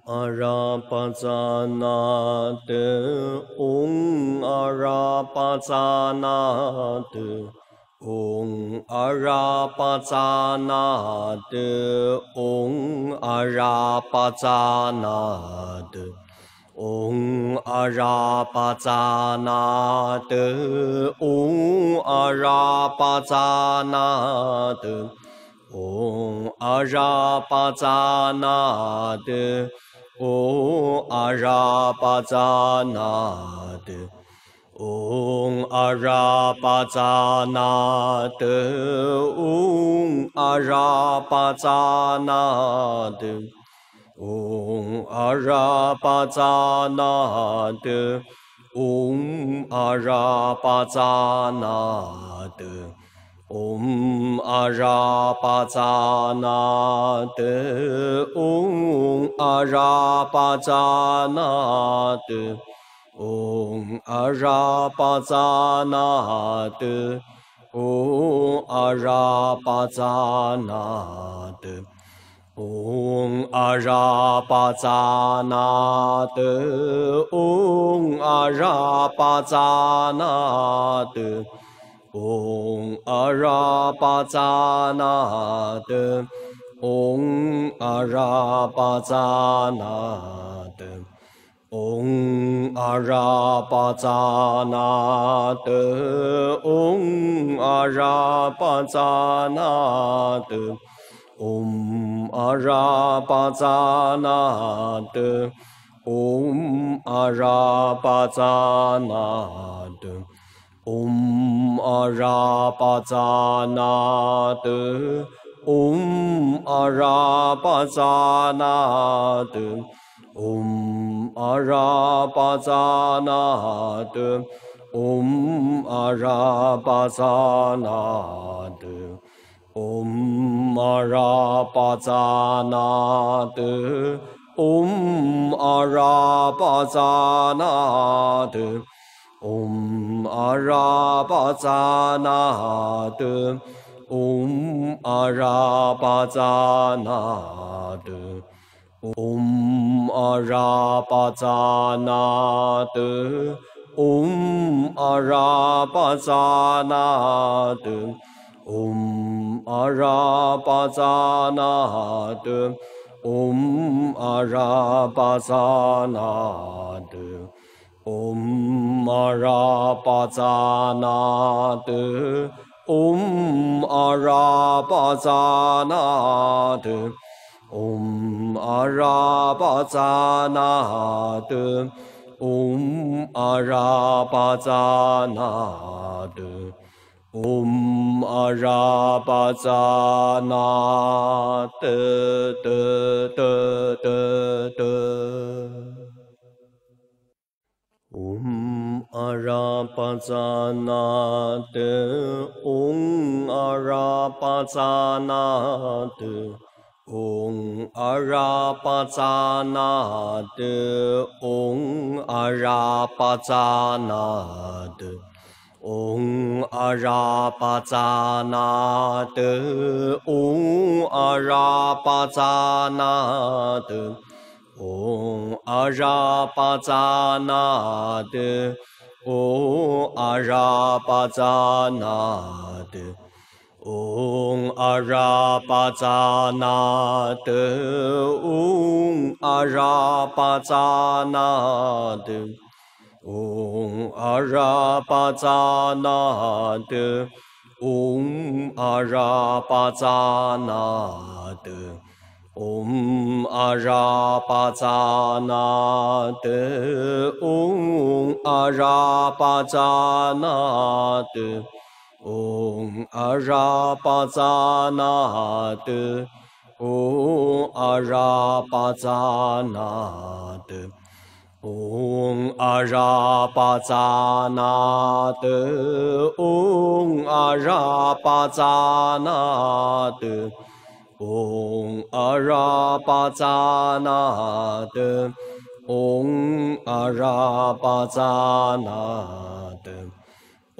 阿拉巴扎那德，嗡阿拉巴扎那德，嗡阿拉巴扎那德，嗡阿拉巴扎那德，嗡阿拉巴扎那德，嗡阿拉巴扎那德，嗡阿拉巴扎那德。嗡阿拉巴扎那德，嗡阿拉巴扎那德，嗡阿拉巴扎那德，嗡阿拉巴扎那德，嗡阿拉巴扎那德。嗡阿拉巴扎那德，嗡阿拉巴扎那德，嗡阿拉巴扎那德，嗡阿拉巴扎那德，嗡阿拉巴扎那德，嗡阿拉巴扎那德。嗡阿拉巴扎那德，嗡阿拉巴扎那德，嗡阿拉巴扎那德，嗡阿拉巴扎那德，嗡阿拉巴扎那德，嗡阿拉巴扎那德。嗡阿拉巴扎那德，嗡阿拉巴扎那德，嗡阿拉巴扎那德，嗡阿拉巴扎那德，嗡阿拉巴扎那德，嗡阿拉巴扎那德。嗡阿拉巴扎那德，嗡阿拉巴扎那德，嗡阿拉巴扎那德，嗡阿拉巴扎那德，嗡阿拉巴扎那德，嗡阿拉巴扎那德。嗡阿拉巴扎那德，嗡阿拉巴扎那德，嗡阿拉巴扎那德，嗡阿拉巴扎那德，嗡阿拉巴扎那德德德德德。嗡阿拉巴扎那德，嗡阿拉巴扎那德，嗡阿拉巴扎那德，嗡阿拉巴扎那德，嗡阿拉巴扎那德，嗡阿拉巴扎那德。嗡阿拉巴扎那德，嗡阿拉巴扎那德，嗡阿拉巴扎那德，嗡阿拉巴扎那德，嗡阿拉巴扎那德，嗡阿拉巴扎那德。嗡阿拉巴扎那德，嗡阿拉巴扎那德，嗡阿拉巴扎那德，嗡阿拉巴扎那德，嗡阿拉巴扎那德，嗡阿拉巴扎那德。嗡阿拉巴扎那德，嗡阿拉巴扎那德，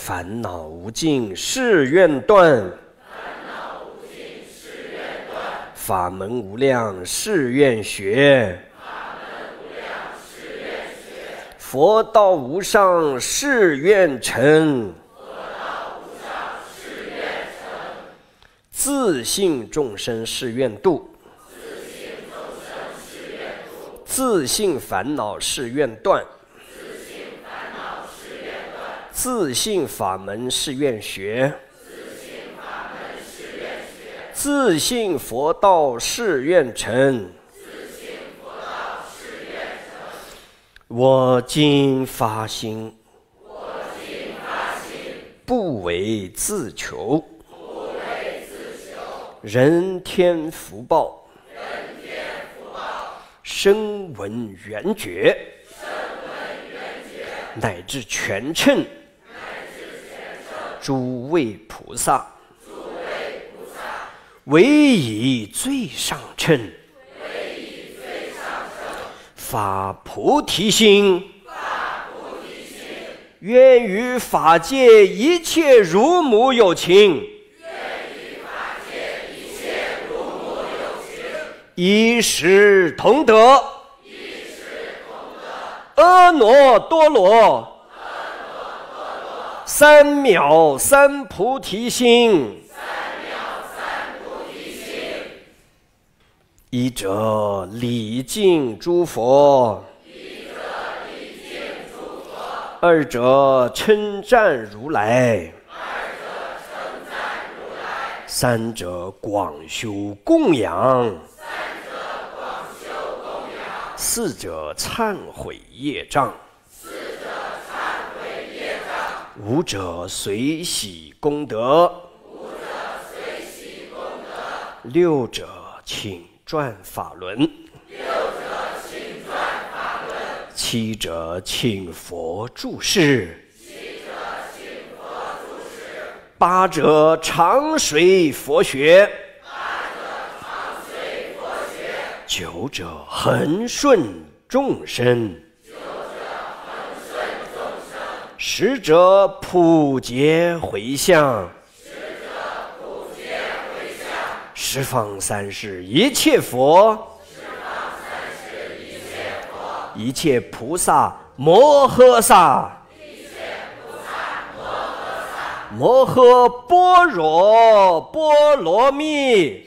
烦恼无尽，誓愿断；法门无量，誓愿学；佛道无上，誓愿成；自性众生誓愿度；自性烦恼誓愿断；自性法门誓愿学；自性佛道誓愿成。我今发心，不为自求，人天福报，声闻缘觉，乃至全称，诸位菩萨，唯以最上乘，发菩提心，愿与法界一切如母有情，一时同得阿耨多罗三藐三菩提心。一者礼敬诸佛，二者称赞如来，三者广修供养，四者忏悔业障，五者随喜功德，六者请转法轮，七者请佛住世，八者常随佛学，九者恒顺众生，十者普结回向，十方三世一切佛，一切菩萨摩诃萨，摩诃般若波罗蜜。